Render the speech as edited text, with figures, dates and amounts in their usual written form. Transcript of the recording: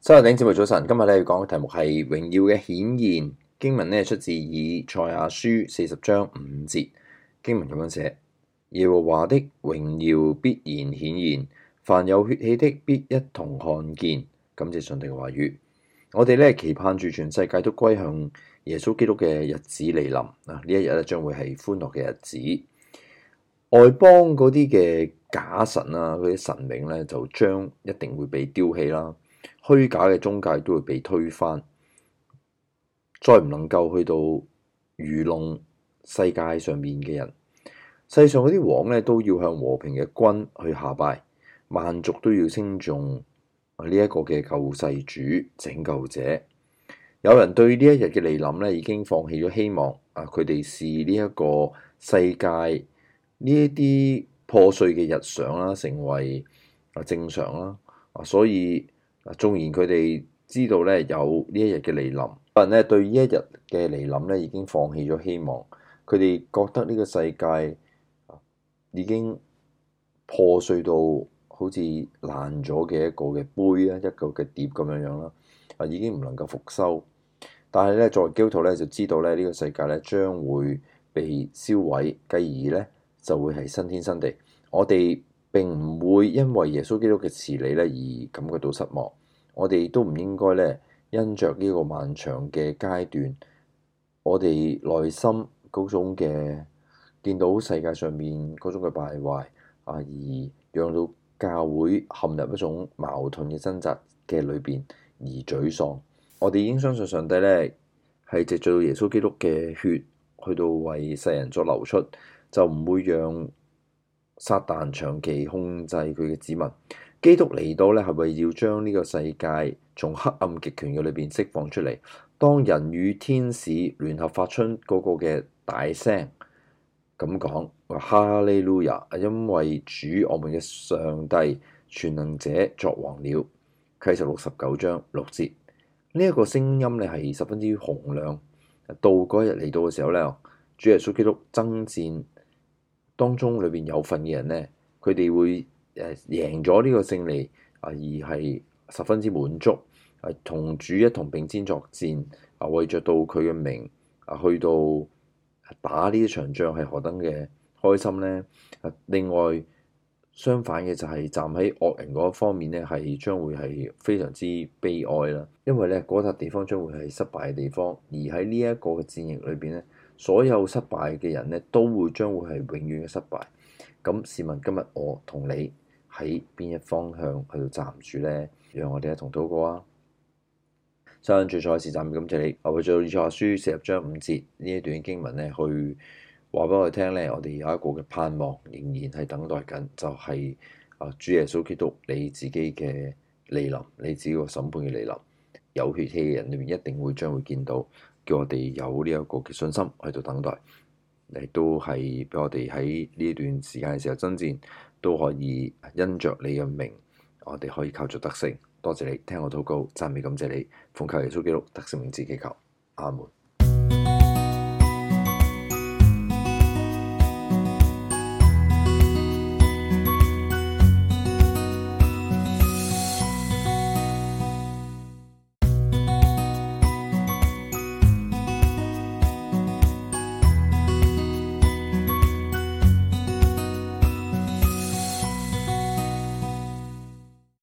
收聽節目早晨，今日咧要講嘅題目係榮耀嘅顯現。經文咧出自以賽亞書40章5節，經文咁樣寫：耶和華的榮耀必然顯現，凡有血氣的必一同看見。感謝上帝嘅話語，我哋咧期盼住全世界都歸向耶穌基督嘅日子嚟臨啊！呢一日咧將會係歡樂嘅日子，外邦嗰啲嘅假神啊，嗰啲神明咧就將一定會被丟棄啦。虛假嘅宗教都會被推翻，再唔能夠去到愚弄世界上面嘅人。世上嗰啲王咧都要向和平嘅君去下拜，萬族都要稱頌呢一個嘅救世主、拯救者。有人對呢一日嘅來臨咧已經放棄咗希望啊！佢哋視呢一個世界呢一啲破碎嘅日常啦，成為正常啦啊！所以縱然佢哋知道咧有呢一日嘅來臨，但係咧對呢一日嘅來臨咧已經放棄咗希望。佢哋覺得呢個世界已經破碎到好似爛咗嘅一個嘅杯啊，一個嘅碟咁樣樣啦，已經唔能夠復修。但係咧作為基督徒咧就知道咧呢個世界咧將會被燒毀，繼而咧就會係新天新地。我哋並唔會因為耶穌基督嘅遲嚟咧而感覺到失望，我哋都唔應該咧因着呢個漫長嘅階段，我哋內心嗰種嘅見到世界上面嗰種嘅敗壞啊，而讓到教會陷入一種矛盾嘅掙扎嘅裏邊而沮喪。我哋已經相信上帝咧係藉著耶穌基督嘅血去到為世人作流出，就唔會讓撒旦長期控制佢嘅子民。基督嚟到咧係為要將呢個世界從黑暗極權嘅裏邊釋放出嚟。當人與天使聯合發出嗰個嘅大聲咁講話哈利路亞，因為主我們嘅上帝全能者作王了。啟示錄19章6節，呢一個聲音咧係十分之洪亮。到嗰日嚟到嘅時候咧，主耶穌基督爭戰當中裏邊有份嘅人咧，佢哋會贏咗呢個勝利而係十分之滿足，同主一同並肩作戰為着到佢嘅名去到打呢一場仗係何等嘅開心呢？另外相反嘅就係站喺惡人嗰方面咧，係將會係非常之悲哀啦，因為咧嗰笪地方將會係失敗嘅地方，而喺呢一個嘅戰役裏邊咧，所有失敗嘅人咧都會將會係永遠嘅失敗。咁試問今日我同你喺邊一方向去到站住呢？讓我哋一同禱告啊！上主再次讚美感謝你，我會做以賽亞書40章5節呢一段經文咧，去話俾我哋聽咧，我哋有一個嘅盼望，仍然係等待緊，就係主耶穌基督你自己嘅嚟臨，你自己個審判嘅嚟臨。有血氣嘅人裏面一定會將會見到，叫我哋有呢一個嘅信心喺度等待，亦都係俾我哋喺呢段時間嘅時候爭戰，都可以因着你嘅名，我哋可以靠著得勝。多謝你聽我禱告，讚美感謝你，奉靠耶穌基督得勝名字祈求，阿門。